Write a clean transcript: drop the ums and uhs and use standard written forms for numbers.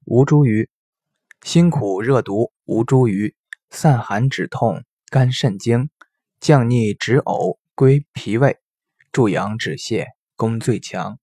吴茱萸，辛苦热毒吴茱萸，散寒止痛肝肾经，降逆止呕归脾胃，助阳止泻功最强。